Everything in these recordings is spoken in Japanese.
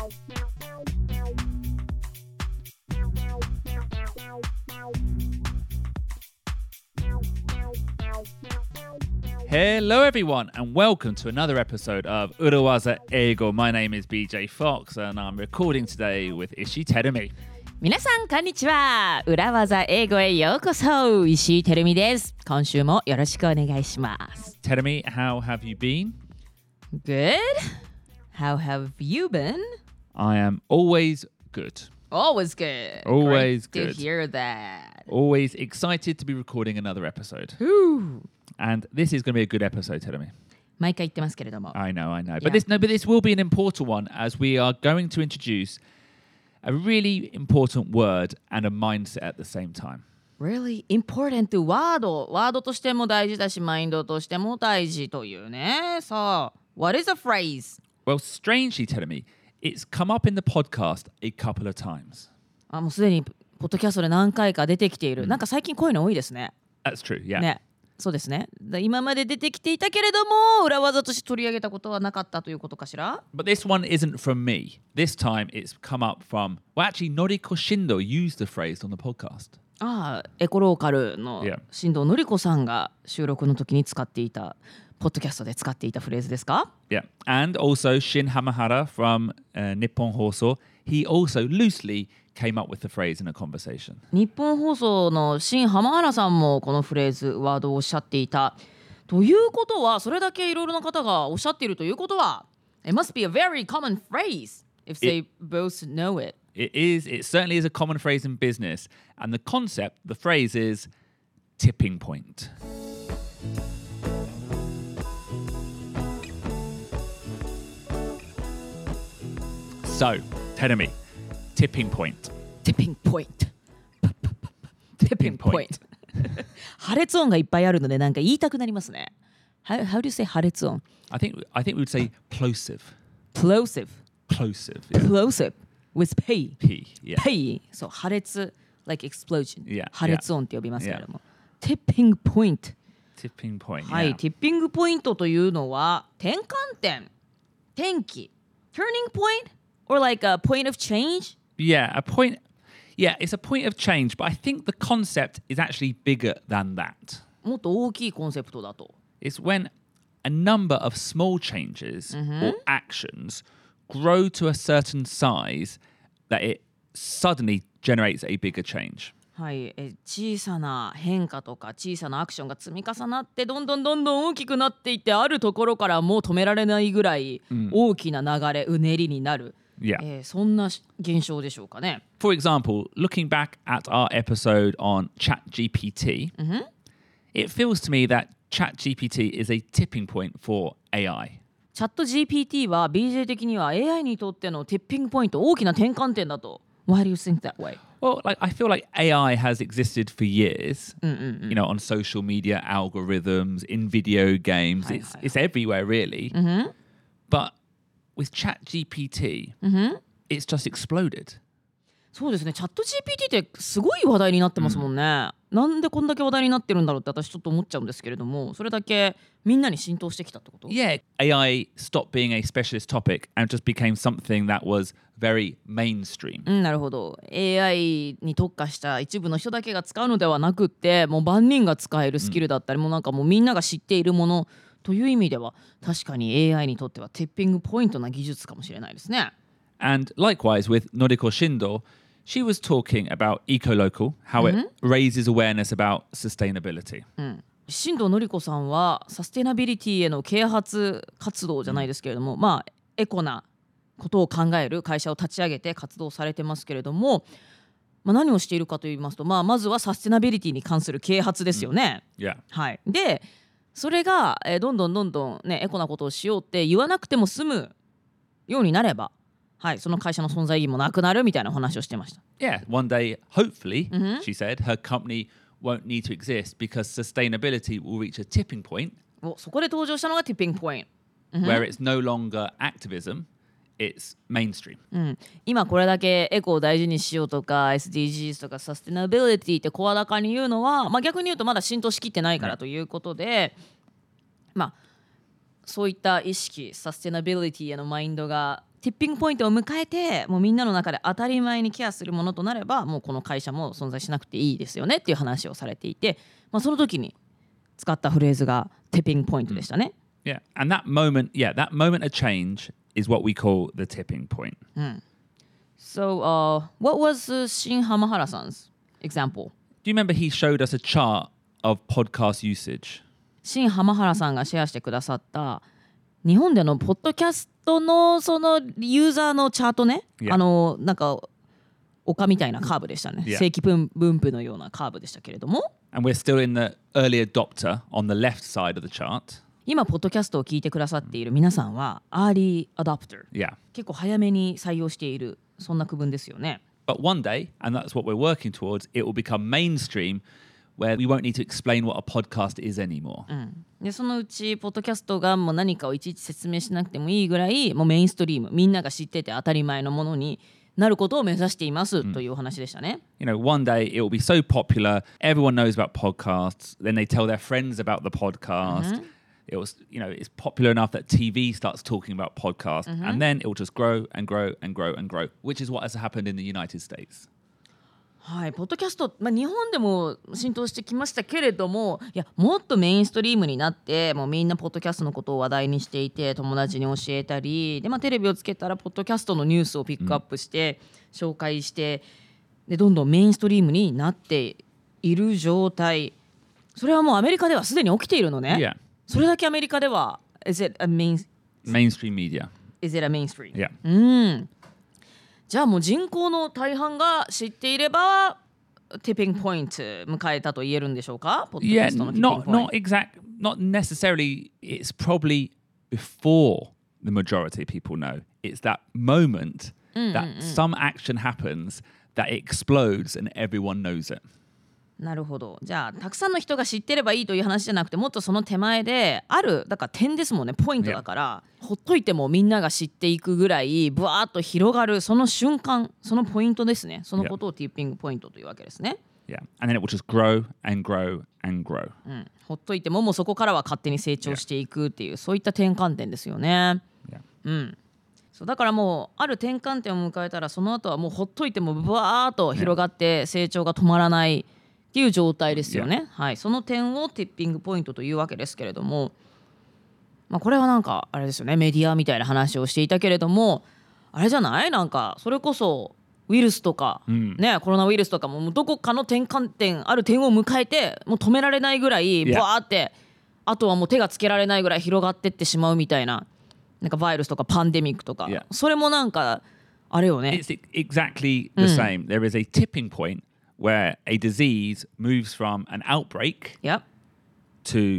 Hello everyone and welcome to another episode of Urawaza Eigo. My name is BJ Fox and I'm recording today with Ishii Terumi. 皆さんこんにちは。裏技英語へようこそ。石井てるみです。今週もよろしくお願いします。 Terumi, how have you been? Good. How have you been? I am always good. Always good. Always Great good. to hear that. Always excited to be recording another episode. And this is going to be a good episode, Terumi. 毎回言ってますけれども。 I know. Yeah. But this will be an important one as we are going to introduce a really important word and a mindset at the same time. Really important word. ワードとしても大事だし、マインドとしても大事というね。さあ、what is a phrase? Well, strangely, Terumi, it's come up in the podcast a couple of times. もうすでにポッドキャストで何回か出てきている。なんか最近こういうの多いですね。 That's true, yeah. ね。そうですね。今まで出てきていたけれども裏技として取り上げたことはなかったということかしら。 But this one isn't from me. This time it's come up from... Well, actually, Noriko Shindo used the phrase on the podcast. エコローカルの Yeah. 新藤のり子さんが収録の時に使っていたポッドキャストで使っていたフレーズですか？ Yeah. And also Shin Hamahara from Nippon Hoso, he also loosely came up with the phrase in a conversation. 日本放送の新浜原さんもこのフレーズワードをおっしゃっていたということは、それだけいろいろな方がおっしゃっているということは It must be a very common phrase if they both know it. It certainly is a common phrase in business. And the concept, the phrase is tipping point. So, Terumi, tipping point. Tipping point. Tipping point. 破裂音がいっぱいあるのでなんか言いたくなりますね。How do you say 破裂音？ I think we would say plosive. Plosive. Plosive. Yeah. Plosive. With P. P. Yeah. P. そう、破裂 like explosion. Yeah, 破裂音って呼びますけれども。Tipping point. Tipping point. はい、 Yeah. ティッピングポイントというのは転換点、転機、turning point or like a point of change? Yeah, a point. Yeah, it's a point of change, but I think the concept is actually bigger than that. もっと大きいコンセプトだと。 It's when a number of small changes or actions grow to a certain size that it suddenly generates a bigger change. はい、小さな変化とか小さなアクションが積み重なってどんどん大きくなっていってあるところからもう止められないぐらい大きな流れ、うねりになる、 Yeah. そんな現象でしょうかね。 For example, looking back at our episode on ChatGPT, it feels to me that ChatGPT is a tipping point for AI. チャット GPT は BJ 的には AI にとってのティッピングポイント、大きな転換点だと。Why do you think that way? Well, I feel like AI has existed for years, you know, on social media algorithms, in video games. It's everywhere, really. But with ChatGPT, it's just exploded. そうですね、チャット GPT ってすごい話題になってますもんね。なんでこんだけ話題になってるんだろうって私ちょっと思っちゃうんですけれども、それだけみんなに浸透してきたってこと？ Yeah, AI stopped being a specialist topic and just became something that was very mainstream. なるほど。 AI に特化した一部の人だけが使うのではなくって、もう万人が使えるスキルだったり、もうなんかもうみんなが知っているものという意味では確かに AI にとってはティッピングポイントな技術かもしれないですね。 And likewise with Noriko Shindo, she was talking about EcoLocal, how it raises awareness about sustainability. 新藤のり子さんはサステナビリティへの啓発活動じゃないですけれども、まあエコなことを考える会社を立ち上げて活動されてますけれども、何をしているかと言いますと、まずはサステナビリティに関する啓発ですよね。 Yeah. はい。でそれがどんどんねエコなことをしようって言わなくても済むようになれば、はい、その会社の存在意義もなくなるみたいなお話をしてました。 Yeah, one day, hopefully, she said, her company won't need to exist because sustainability will reach a tipping point そこで登場したのがティッピングポイント。 where it's no longer activism, it's mainstream. 今これだけエコを大事にしようとか SDGs とかサステナビリティって声高に言うのは、逆に言うとまだ浸透しきってないからということで、 そういった意識、サステナビリティへのマインドがティッピングポイントを迎えて、もうみんなの中で当たり前にケアするものとなれば、もうこの会社も存在しなくていいですよねっていう話をされていて、その時に使ったフレーズがティッピングポイントでしたね。 Yeah, and that moment of change is what we call the tipping point. So, what was Shin Hamahara-san's example? Do you remember he showed us a chart of podcast usage? シン・ハマハラさんがシェアしてくださった日本でのポッドキャストのそのユーザーのチャートね、なんか丘みたいなカーブでしたね、正規分布のようなカーブでしたけれども、 And we're still in the early adopter on the left side of the chart. 今ポッドキャストを聞いてくださっている皆さんはアーリーアダプター、結構早めに採用している、そんな区分ですよね。 But one day, and that's what we're working towards, it will become mainstream where we won't need to explain what a podcast is anymore. でそのうちポッドキャストがもう何かをいちいち説明しなくてもいいぐらい、もうメインストリーム、みんなが知ってて当たり前のものになることを目指していますというお話でしたね。 You know, one day it will be so popular, everyone knows about podcasts, then they tell their friends about the podcast. It was, you know, it's popular enough that TV starts talking about podcasts, and then it will just grow and grow and grow and grow, which is what has happened in the United States. はい、ポッドキャスト、日本でも浸透してきましたけれども、いやもっとメインストリームになって、もうみんなポッドキャストのことを話題にしていて、友達に教えたりで、テレビをつけたらポッドキャストのニュースをピックアップして、紹介して、でどんどんメインストリームになっている状態、それはもうアメリカではすでに起きているのね。 Yeah. それだけアメリカでは Is it a mainstream media? Is it a mainstream? Yeah. じゃあもう人口の大半が知っていればティッピングポイント迎えたと言えるんでしょうか？ Yeah, not necessarily. It's probably before the majority of people know. It's that moment that some action happens that it explodes and everyone knows it. なるほど。じゃあたくさんの人が知ってればいいという話じゃなくて、もっとその手前である、だから点ですもんね、ポイントだから、ほっといてもみんなが知っていくぐらいブワーッと広がるその瞬間、そのポイントですね。そのことをティッピングポイントというわけですね。 Yeah, and then it will just grow and grow and grow. ほっといてももうそこからは勝手に成長していくっていう、そういった転換点ですよね。そうだからもうある転換点を迎えたら、その後はもうほっといてもブワーッと広がって成長が止まらないっていう状態ですよね。はい、その点をティッピングポイントというわけですけれども、これはなんかあれですよね、メディアみたいな話をしていたけれども、あれじゃない、なんかそれこそウイルスとか、コロナウイルスとかもどこかの転換点、ある点を迎えてもう止められないぐらいバーって、あとはもう手がつけられないぐらい広がってってしまうみたいな、なんかバイルスとかパンデミックとか、それもなんかあれよね。 It's exactly the same. There is a tipping point where a disease moves from an outbreak to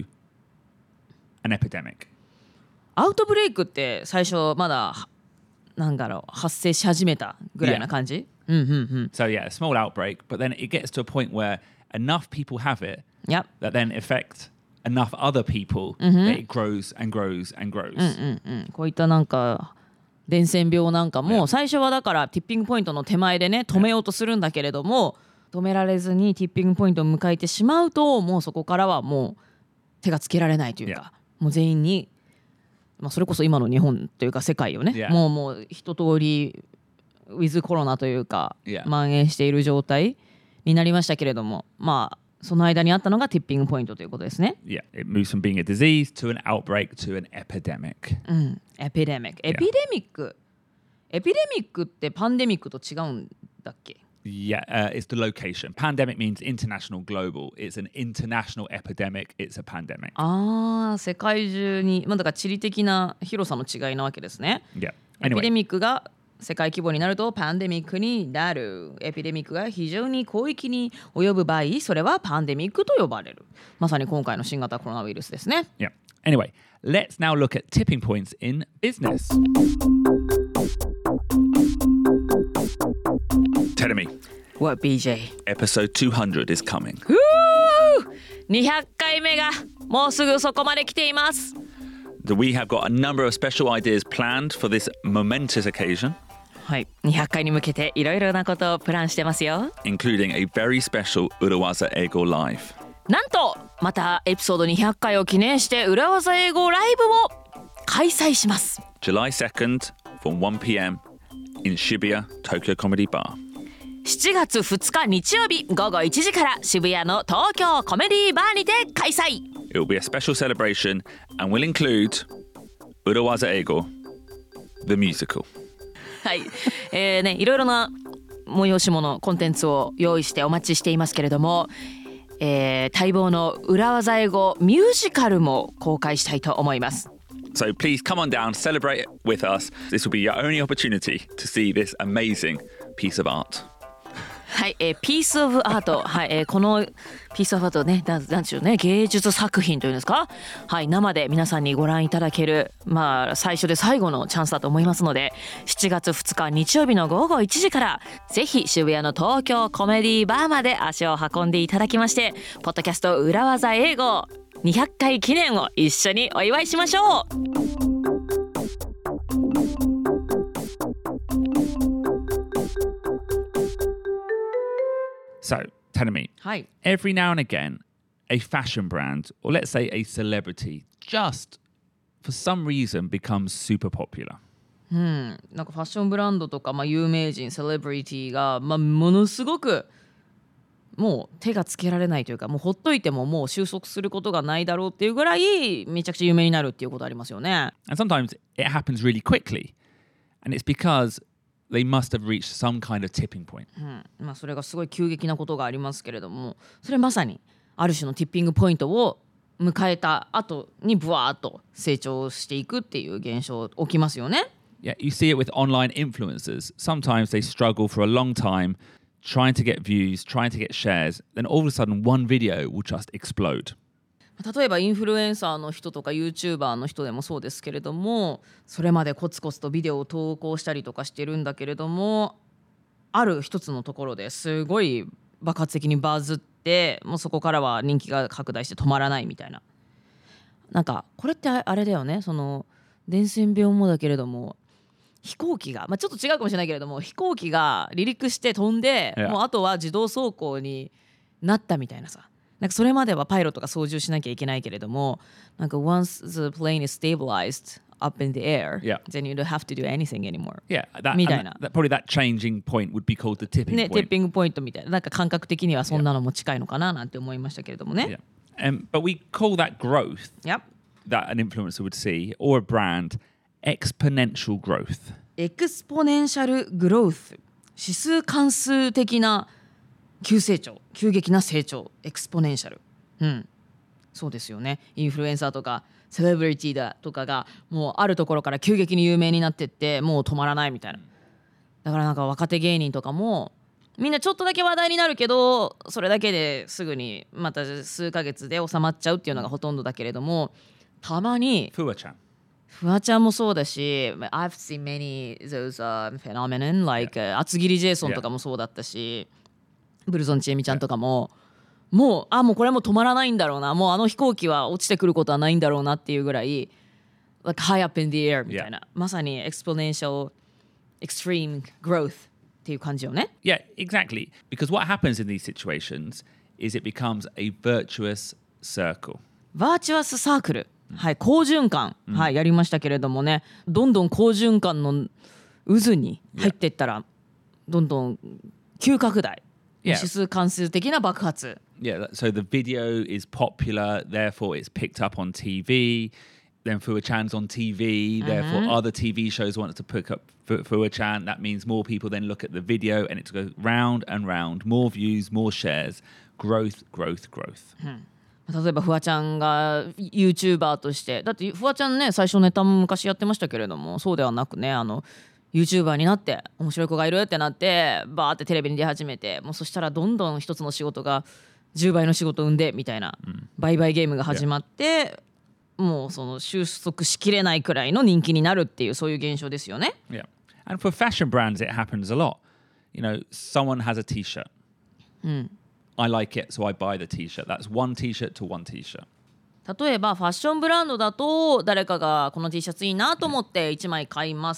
an epidemic. アウトブレイクって最初まだなんだろう、発生し始めたぐらいな感じ。 So yeah, a small outbreak, but then it gets to a point where enough people have it that then affect enough other people that it grows and grows and grows. こういったなんか伝染病なんかも最初はだからティッピングポイントの手前でね止めようとするんだけれども、止められずにティッピングポイントを迎えてしまうと、もうそこからはもう手がつけられないというか、もう全員に、それこそ今の日本というか世界をね、もう一通りウィズコロナというか蔓延している状態になりましたけれども、その間にあったのがティッピングポイントということですね。 Yeah, it moves from being a disease to an outbreak to an epidemic. エピデミックってパンデミックと違うんだっけ ？Yeah, it's the location. Pandemic means international, global. It's an international epidemic. It's a pandemic. 世界中に、だから地理的な広さの違いなわけですね。 Yeah. エピデミックが世界規模になるとパンデミックになる。エピデミックが非常に広域に及ぶ場合、それはパンデミックと呼ばれる。まさに今回の新型コロナウイルスですね。 Yeah. Anyway, let's now look at tipping points in business. Tell me. What, BJ? Episode 200 is coming. 200回目がもうすぐそこまで来ています。 We have got a number of special ideas planned for this momentous occasion. はい、200回に向けていろいろなことをプランしてますよ。 Including a very special Urawaza Eigo Live. なんとまたエピソード200回を記念して裏技英語ライブも開催します。 July 2nd from 1 p.m. in Shibuya Tokyo Comedy Bar. 7月2日日曜日午後1時から渋谷の東京コメディバーにて開催。 It will be a special celebration and will include Urawaza Eigo, the musical. はい、いろいろな催し物コンテンツを用意してお待ちしていますけれども、待望の裏技英語ミュージカルも公開したいと思います。 So please come on down, celebrate with us. This will be your only opportunity to see this amazing piece of art. はい、ピースオブアート、はい、このピースオブアートね、なんでしょうね、芸術作品というんですか、はい、生で皆さんにご覧いただける、まあ最初で最後のチャンスだと思いますので、7月2日日曜日の午後1時からぜひ渋谷の東京コメディバーまで足を運んでいただきまして、ポッドキャスト裏技英語200回記念を一緒にお祝いしましょう。 So, Tanami, はい、 every now and again, a fashion brand, or let's say a celebrity, just for some reason becomes super popular. なんかファッションブランドとか、有名人セレブリティが、ものすごくもう手がつけられないというか、もうほっといてももう収束することがないだろうっていうぐらいめちゃくちゃ有名になるっていうことありますよね。 And sometimes it happens really quickly. And it's because they must have reached some kind of tipping point. それがすごい急激なことがありますけれども、それまさにある種のティッピングポイントを迎えた後にブワーッと成長していくっていう現象起きますよね。 Yeah, you see it with online influencers. Sometimes they struggle for a long time trying to get views, trying to get shares. Then all of a sudden one video will just explode. 例えばインフルエンサーの人とか YouTuber の人でもそうですけれども、それまでコツコツとビデオを投稿したりとかしてるんだけれども、ある一つのところですごい爆発的にバズって、もうそこからは人気が拡大して止まらないみたいな。なんかこれってあれだよね、その伝染病もだけれども、飛行機が、ちょっと違うかもしれないけれども、飛行機が離陸して飛んで、もうあとは自動走行になったみたいなさ。なんかそれまではパイロットが操縦しなきゃいけないけれども、なんか once the plane is stabilized up in the air, then you don't have to do anything anymore. Yeah, みたいな。 probably that changing point would be called the tipping ね、 point. ティッピングポイントみたいな、なんか感覚的にはそんなのも近いのかななんて思いましたけれどもね。 But we call that growth Yep. that an influencer would see, or a brand, exponential growth. エクスポネンシャルグロース、指数関数的な急成長、急激な成長、エクスポネンシャル。そうですよね。インフルエンサーとかセレブリティだとかがもうあるところから急激に有名になってってもう止まらないみたいな。だからなんか若手芸人とかもみんなちょっとだけ話題になるけど、それだけですぐにまた数ヶ月で収まっちゃうっていうのがほとんどだけれども、たまにフワちゃんもそうだし、I've seen many those phenomenon like 厚切りジェイソンとかもそうだったし、ブルゾンちえみちゃんとかも、もうこれも止まらないんだろうな、もうあの飛行機は落ちてくることはないんだろうなっていうぐらい like high up in the air みたいな、まさに exponential extreme growth っていう感じよね。 Yeah, exactly. Because what happens in these situations is it becomes a virtuous circle. バーチュアスサークル、はい、好循環、やりましたけれどもね、どんどん好循環の渦に入っていったら、どんどん急拡大、指数関数的な爆発。 Yeah, so the video is popular, therefore it's picked up on TV. Then Fua-chan's on TV, therefore other TV shows want to pick up Fua-chan. That means more people then look at the video and it goes round and round. More views, more shares. Growth, growth, growth. 例えばフワちゃんが YouTuber として、だってフワちゃんね、最初ネタも昔やってましたけれども、そうではなくね、YouTuber になって面白い子がいるってなってバーってテレビに出始めて、もうそしたらどんどん一つの仕事が10倍の仕事を生んでみたいな、売買ゲームが始まって、もうその収束しきれないくらいの人気になるっていう、そういう現象ですよね。 Yeah. And for fashion brands it happens a lot. You know, someone has a t-shirt. I like it, so I buy the t-shirt. That's one t-shirt to one t-shirt. 例えばファッションブランドだと、誰かがこの T シャツいいなと思って1枚買います、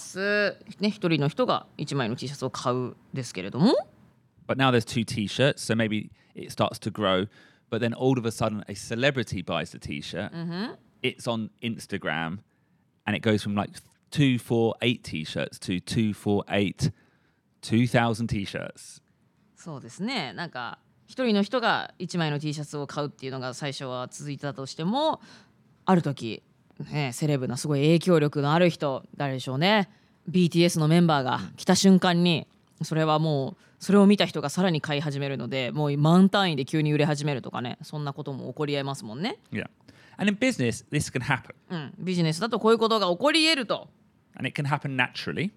ね、一人の人が1枚の T シャツを買うですけれども、 But now there's two t-shirts, so maybe it starts to grow. But then all of a sudden a celebrity buys the t-shirt. It's on Instagram and it goes from like 248 t-shirts to 248 2000 t-shirts. そうですね。なんか一人の人が1枚の T シャツを買うっていうのが最初は続いてたとしても、ある時、ね、セレブなすごい影響力のある人、誰でしょうね、 BTS のメンバーが来た瞬間にそれはもうそれを見た人がさらに買い始めるので、もう万単位で急に売れ始めるとかね、そんなことも起こりえますもんね。 Yeah. And in business, this can happen. ビジネスだとこういうことが起こり得ると。 And it can happen naturally.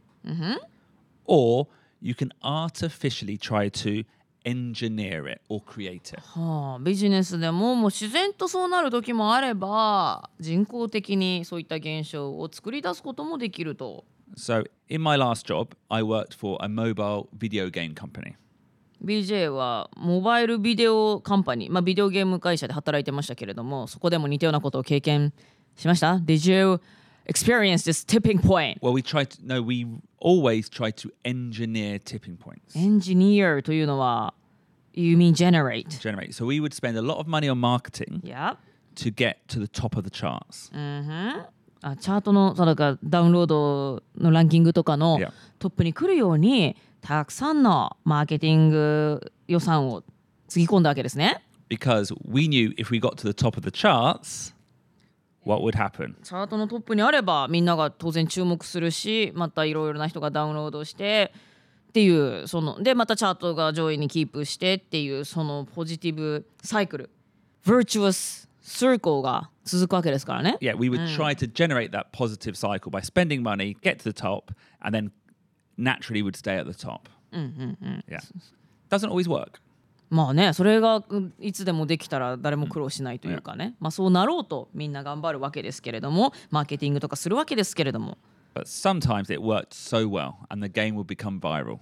Or you can artificially try to engineer it or create it. ビジネスでももう自然とそうなる時もあれば、人工的にそういった現象を作り出すこともできると。 So in my last job, I worked for a mobile video game company. BJ はモバイルビデオカンパニー、ビデオゲーム会社で働いてましたけれども、そこでも似たようなことを経験しました？ Did you experience this tipping point? Well, we always try to engineer tipping points. Engineer というのは You mean generate? So we would spend a lot of money on marketing Yep. to get to the top of the charts. チャートのだからダウンロードのランキングとかの Yeah. トップに来るようにたくさんのマーケティング予算をつぎ込んだわけですね。 Because we knew if we got to the top of the charts, what would happen? チャートのトップにあればみんなが当然注目するし、またいろいろな人がダウンロードしてっていう、そのでまたチャートが上位にキープしてっていう、そのポジティブサイクル、 Virtuous Circle が続くわけですからね。 Yeah, we would try to generate that positive cycle by spending money, get to the top, and then naturally would stay at the top. Yeah. Doesn't always work. まあね、それがいつでもできたら誰も苦労しないというかね、そうなろうとみんな頑張るわけですけれども、マーケティングとかするわけですけれども。 But sometimes it worked so well and the game would become viral.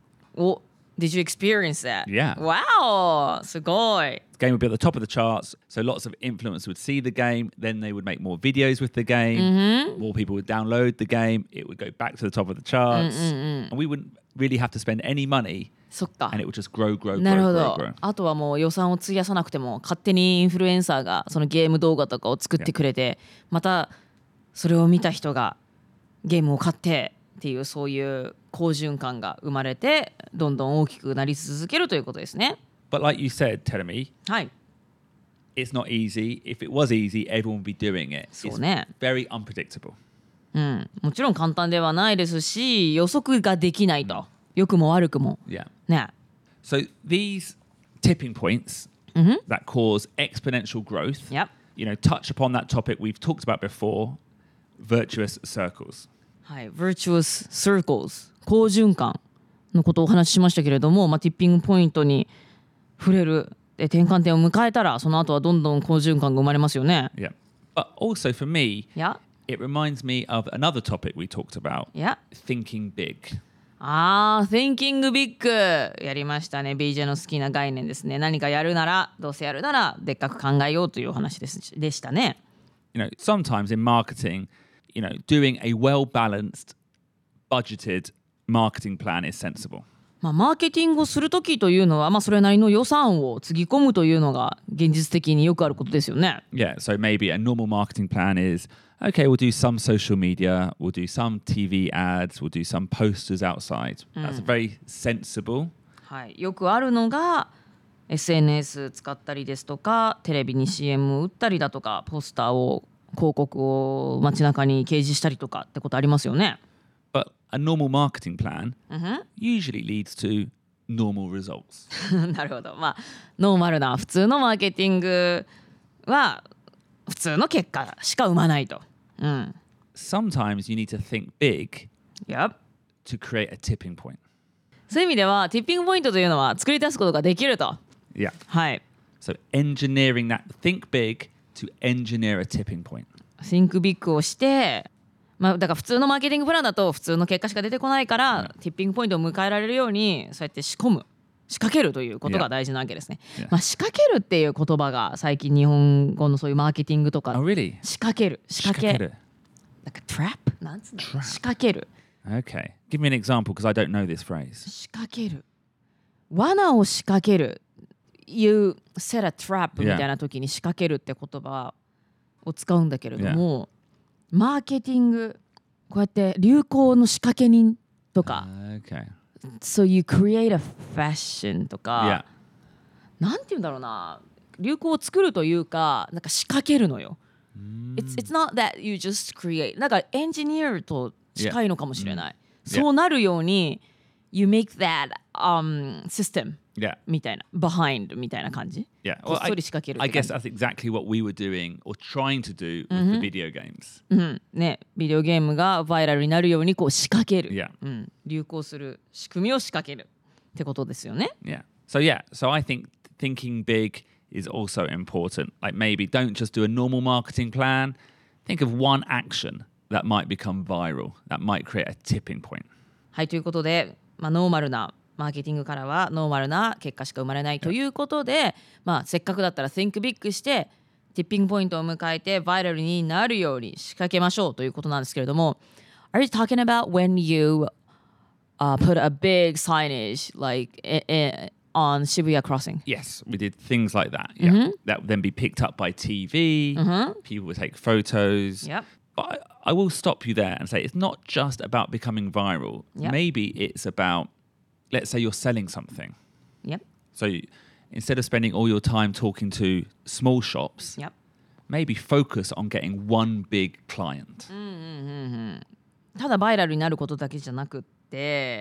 Did you experience that? Yeah. Wow! すごい。 The game would be at the top of the charts, so lots of influencers would see the game, then they would make more videos with the game, more people would download the game, it would go back to the top of the charts, and we wouldn't really have to spend any money, そっか。 and it would just grow, grow, なる grow, ほ grow, ど。 grow. あとはもう予算を費やさなくても勝手にインフルエンサーがそのゲーム動画とかを作ってくれて、またそれを見た人がゲームを買ってっていう、そういう好循環が生まれてどんどん大きくなり続けるということですね。 But like you said, Teremi, はい。 it's not easy. If it was easy, everyone would be doing it. そう It's ね。 very unpredictable. もちろん簡単ではないですし、予測ができないと。良くも悪くも。 Yeah. ね。 So these tipping points that cause exponential growth, Yep. touch upon that topic we've talked about before, virtuous circles. はい。Virtuous Circles、好循環のことをお話ししましたけれども、ティッピングポイントに触れる、で転換点を迎えたら、その後はどんどん好循環が生まれますよね。 Yeah. But also for me, Yeah. it reminds me of another topic we talked about, Yeah. thinking big. Thinking Big やりましたね。 BJ の好きな概念ですね。何かやるなら、どうせやるならでっかく考えようというお話でしたね。 Sometimes in marketing, doing a well-balanced, budgeted marketing plan is sensible. マーケティングをするときというのは、それなりの予算をつぎ込むというのが現実的によくあることですよね。 Yeah, so maybe a normal marketing plan is, okay, we'll do some social media, we'll do some TV ads, we'll do some posters outside. That's very sensible. はい、よくあるのが SNS 使ったりですとか、テレビに CM を打ったりだとか、ポスターを広告を街中に掲示したりとかってことありますよね。 But a normal marketing plan usually leads to normal results. なるほど。ノーマルな普通のマーケティングは普通の結果しか生まないと。 Sometimes you need to think big Yep. to create a tipping point. そういう意味ではティッピングポイントというのは作り出すことができると。 Yeah. はい。 So engineering that, think big to engineer a tipping point. Think Big をして、だから普通のマーケティングプランだと普通の結果しか出てこないから、ティッピングポイントを迎えられるようにそうやって仕掛けるということが大事なわけですね。仕掛けるっていう言葉が最近日本語のそういうマーケティングとか、 Oh, really? 仕掛けるなんかトラップなんつうの、仕掛ける。 Okay. Give me an example because I don't know this phrase. 仕掛ける、罠を仕掛ける。You set a trap みたいな時に仕掛けるって言葉を使うんだけれども、 マーケティング、こうやって流行の仕掛け人とか、 Okay. So you create a fashion とか、 Yeah. なんて言うんだろうな、流行を作るというか、なんか仕掛けるのよ。It's not that you just create. なんかエンジニアと近いのかもしれない。そうなるように、You make that system Yeah. みたいな、behind みたいな感じ。 Yeah. こっそり仕掛けるって I 感じ。 guess that's exactly what we were doing or trying to do with the video games. ね、ビデオゲームがバイラルになるようにこう仕掛ける、 Yeah. 流行する仕組みを仕掛けるってことですよね。 Yeah. So I think thinking big is also important. Like maybe don't just do a normal marketing plan. Think of one action that might become viral, that might create a tipping point. はい、ということで、ノーマルなマーケティングからはノーマルな結果しか生まれないということで、せっかくだったら Think Big してティッピングポイントを迎えてバイラルになるように仕掛けましょうということなんですけれども、 Are you talking about when you put a big signage like on Shibuya Crossing? Yes, we did things like that. Yeah. That would then be picked up by TV. People would take photos. Yep. But I will stop you there and say it's not just about becoming viral. Yep. Maybe it's about, let's say you're selling something. Yep. So instead of spending all your time talking to small shops, Yep. maybe focus on getting one big client. ただバイラルになることだけじゃなくって、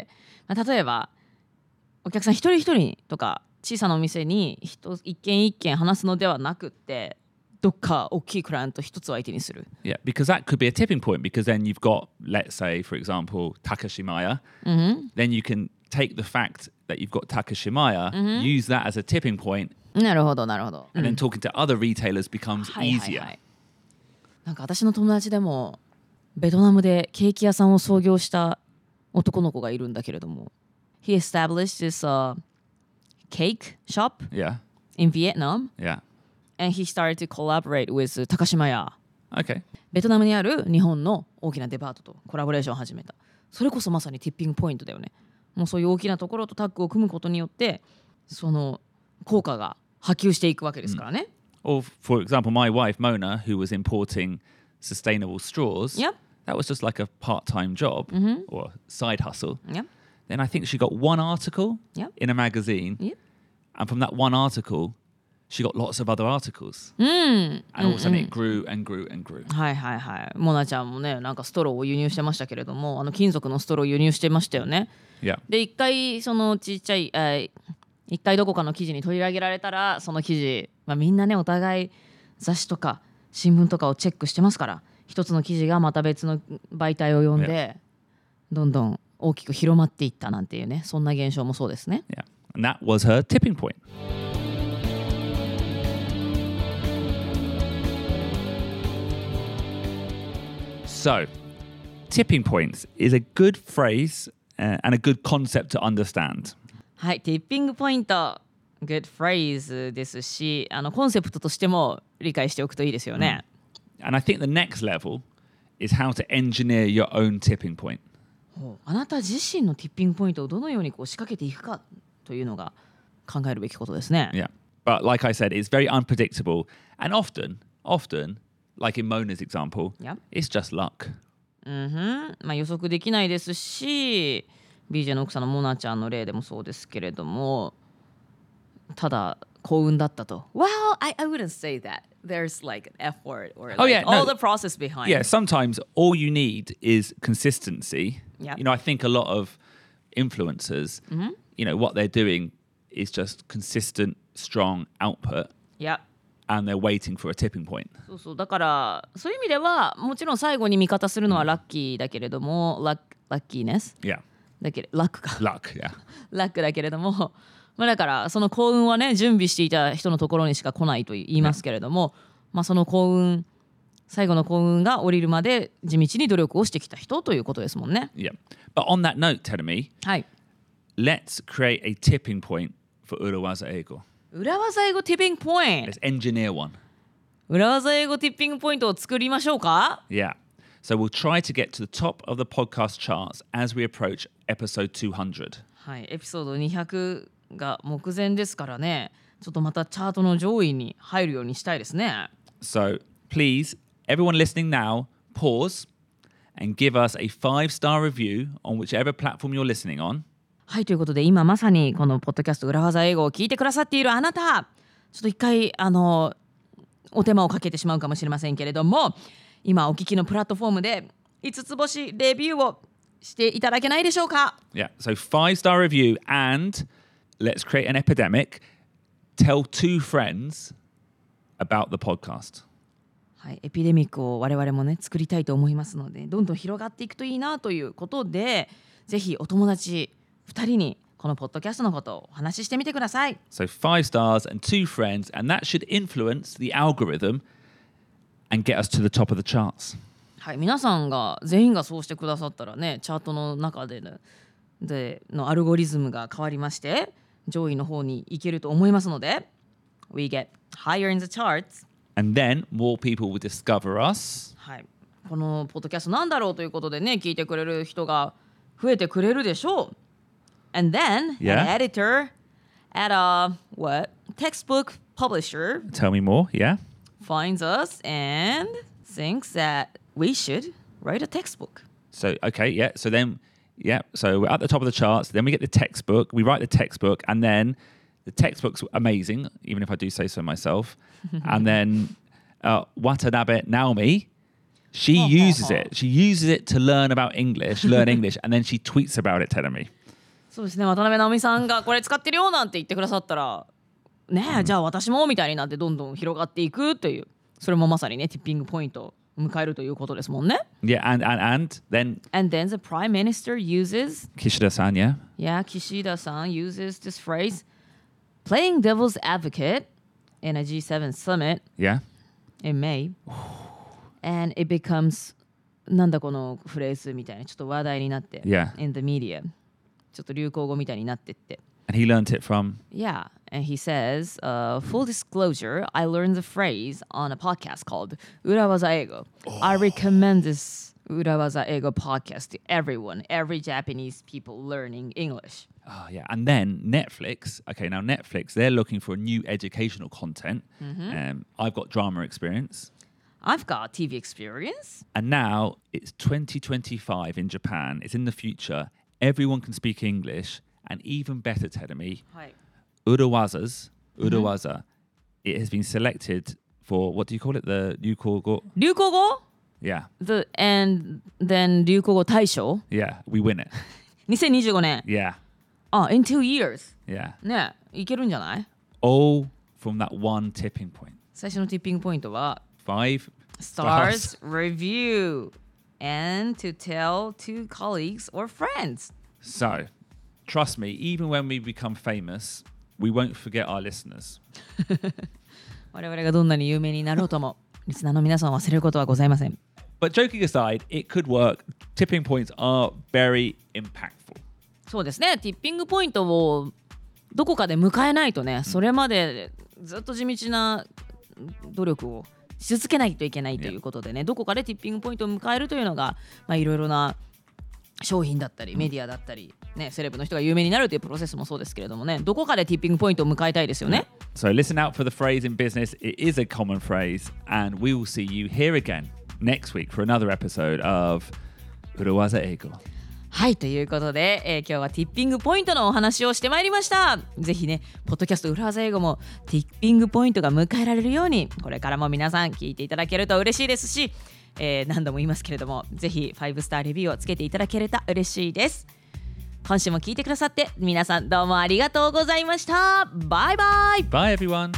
例えばお客さん一人一人とか小さなお店に一軒一軒話すのではなくって、どっか大きいクライアント一つを相手にする。 Yeah, because that could be a tipping point because then you've got, let's say, for example, Takashimaya. Then you can take the fact that you've got Takashimaya, use that as a tipping point, なるほどなるほど。 and then talking to other retailers becomes はいはい easier. はい。なんか私の友達でもベトナムでケーキ屋さんを創業した男の子がいるんだけれども、 He established this cake shop Yeah, in Vietnam yeah. and he started to collaborate with 高島屋。 Okay. ベトナムにある日本の大きなデパートとコラボレーションを始めた。それこそまさにティッピングポイントだよね。もうそういう大きなところとタッグを組むことによってその効果が波及していくわけですからね。 Or, for example, my wife, Mona, who was importing sustainable straws, Yep. that was just like a part-time job or side hustle. Yep. Then I think she got one article Yep. in a magazine. Yep. And from that one article, she got lots of other articles. And all of a sudden it grew and grew and grew. はいはいはい。モナちゃんもね、なんかストローを輸入してましたけれども、金属のストローを輸入してましたよね。 Yeah. で、一回そのちっちゃい、一回どこかの記事に取り上げられたら、その記事、みんなね、お互い雑誌とか新聞とかをチェックしてますから、一つの記事がまた別の媒体を読んで、どんどん大きく広まっていったなんていうね、そんな現象もそうですね。 Yeah. And that was her tipping point. So, tipping points is a good phrase and a good concept to understand. はい、ティッピングポイント、good phrase ですし、コンセプトとしても理解しておくといいですよね。 And I think the next level is how to engineer your own tipping point. あなた自身のティッピングポイントをどのようにこう仕掛けていくかというのが考えるべきことですね。 Yeah. But like I said, it's very unpredictable. And often, like in Mona's example, Yeah. it's just luck. 予測できないですし、BJ の奥さんのモナちゃんの例でもそうですけれども、ただ幸運だったと。Well, I wouldn't say that. There's like an effort or like yeah, no. all the process behind. Yeah, sometimes all you need is consistency. Yeah. You know, I think a lot of influencers, you know, what they're doing is just consistent, strong output, いや、 and they're waiting for a tipping point. そうそう、だからそういう意味ではもちろん最後に味方するのはラッキーだけれども、ラッキーネス Yeah. だけラックか Luck, yeah. ラックだけれども、だからその幸運はね、準備していた人のところにしか来ないと言いますけれども、その幸運、最後の幸運が降りるまで地道に努力をしてきた人ということですもんね。 Yeah. But on that note, Terumi, はい。 let's create a tipping point for Urawaza Eigo. 裏技英語ティッピングポイント。 Let's engineer one. 裏技英語ティッピングポイントを作りましょうか。 Yeah. So we'll try to get to the top of the podcast charts as we approach episode 200. はい、エピソード200が目前ですからね、ちょっとまたチャートの上位に入るようにしたいですね。 So please, everyone listening now, pause and give us a 5-star review on whichever platform you're listening on. はい、ということで今まさにこのポッドキャスト裏技英語を聞いてくださっているあなた、ちょっと一回お手間をかけてしまうかもしれませんけれども、今お聞きのプラットフォームで5つ星レビューをしていただけないでしょうか。 Yeah, so 5-star review and let's create an epidemic. Tell 2 friends about the podcast. はい、エピデミックを我々もね作りたいと思いますので、どんどん広がっていくといいなということで、ぜひお友達2人にこのポッドキャストのことをお話ししてみてください。 So 5 stars and 2 friends, and that should influence the algorithm and get us to the top of the charts. はい、皆さんが全員がそうしてくださったらね、チャートの中でのアルゴリズムが変わりまして上位の方に行けると思いますので、 We get higher in the charts. And then more people will discover us. はい、このポッドキャストなんだろうということでね、聞いてくれる人が増えてくれるでしょう。 And then Yeah. an editor at a textbook publisher Tell me more, yeah? finds us and thinks that we should write a textbook. So, okay, yeah. So then, yeah. So we're at the top of the charts. Then we get the textbook. We write the textbook. And then the textbook's amazing, even if I do say so myself. And then Watanabe Naomi, she uses it. She uses it to learn English. And then she tweets about it, telling me. そうですね、渡辺直美さんがこれ使ってるよなんて言ってくださったらねえ、じゃあ私もみたいになってどんどん広がっていくという、それもまさにねティッピングポイントを迎えるということですもんね。 Yeah, and then And then the prime minister uses Kishida-san, yeah? Kishida-san uses this phrase playing devil's advocate in a G7 summit Yeah. in May and it becomes なんだこのフレーズみたいなちょっと話題になって Yeah. in the media ちょっと流行語みたいになってって And he learnt it from... Yeah, and he says, full disclosure, I learned the phrase on a podcast called Urawaza Eigo. I recommend this Urawaza Eigo podcast to everyone, every Japanese people learning English. Oh, yeah. And then Netflix. Okay, now Netflix, they're looking for new educational content. I've got drama experience. I've got TV experience. And now it's 2025 in Japan. It's in the future. Everyone can speak English. And even better, Tedemi, Urawaza, it has been selected for, what do you call it? The Ryukogo? 流行語 Yeah. And then 流行語大賞 Yeah, we win it. 2025年 Yeah. in 2 years. Yeah. ねえ、いけるんじゃない All from that one tipping point. 最初のティッピングポイントは 5 stars review and to tell to colleagues or friends. So, trust me, even when we become famous, we won't forget our listeners. 我々がどんなに有名になろうともリスナーの皆さんを忘れることはございません。 But joking aside, it could work. Tipping points are very impactful. そうですね、ティッピングポイントをどこかで迎えないとね、それまでずっと地道な努力をし続けないといけないということでね、どこかでティッピングポイントを迎えるというのがいろいろな商品だったりメディアだったり、ね、セレブの人が有名になるというプロセスもそうですけれどもね、どこかでティッピングポイントを迎えたいですよね。 So listen out for the phrase in business. It is a common phrase, and we will see you here again next week for another episode of Urawaza Eigo. はい、ということで、今日はティッピングポイントのお話をしてまいりました。ぜひね、ポッドキャスト裏技英語もティッピングポイントが迎えられるように、これからも皆さん聞いていただけると嬉しいですし、何度も言いますけれども、ぜひ5スターレビューをつけていただけると嬉しいです。今週も聞いてくださって皆さんどうもありがとうございました。バイバイ。 Bye, everyone.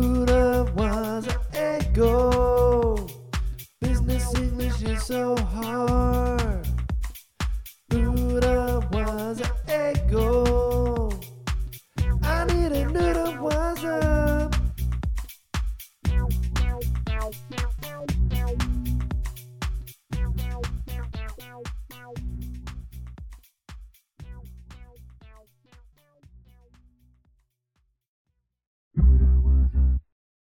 Urawaza Eigo. Business English is so hard.